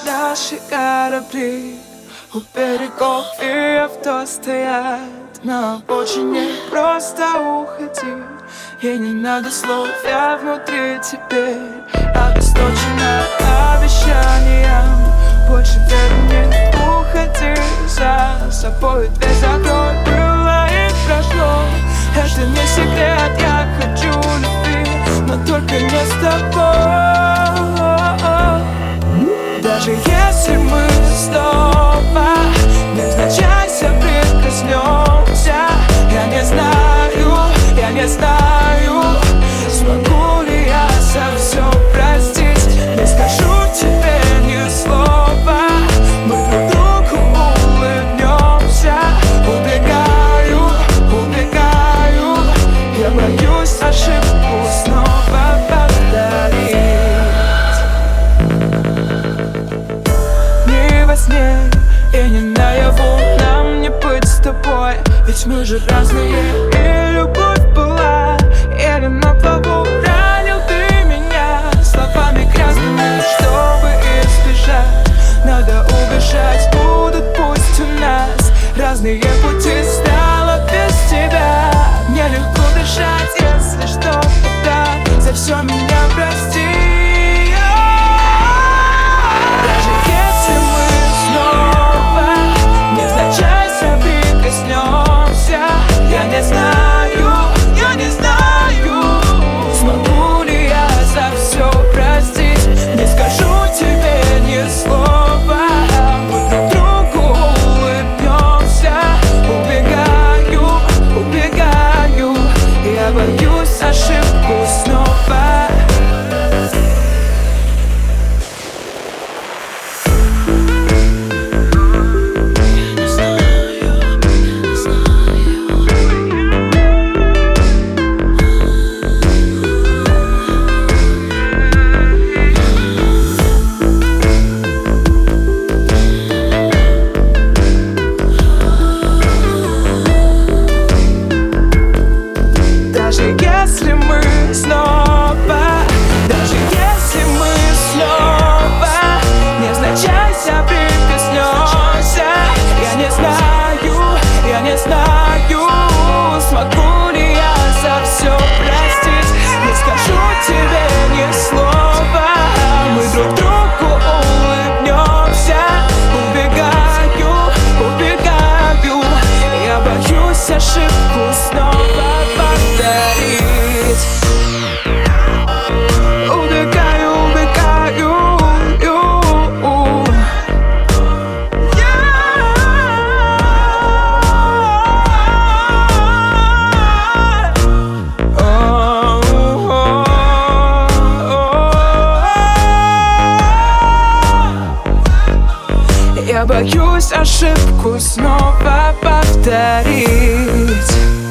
наши корабли у берегов, и авто стоят на обочине. Просто уходи, ей не надо слов, я внутри теперь обесточена обещанием. Больше веры мне, уходи, за собой дверь закрой. Было и прошло, это не секрет, я хочу любви, но только не с тобой. Даже если мы снова невзначай соприкоснемся, я не знаю, смогу ли я совсем простить. Не скажу тебе ни слова, мы друг другу улыбнемся. Убегаю, я боюсь ошибку снова повторить. Не во сне и не наяву нам не быть с тобой, ведь мы же разные. И любовь была еле на плаву. Ранил ты меня словами грязными, чтобы избежать, надо убежать. Будут пусть у нас разные пути, стало без тебя нелегко дышать. Если что, тогда за все меня прости. Даже если мы снова невзначай соприкоснемся, я не знаю, смогу ли я за все простить. Не скажу тебе ни слова, мы друг другу улыбнемся. Убегаю, я боюсь ошибку снова. Если мы снова невзначай соприкоснемся, я не знаю, смогу ли я за все простить. Не скажу тебе ни слова, мы друг другу улыбнемся. Убегаю, я боюсь ошибку снова повторить. Я боюсь ошибку снова повторить.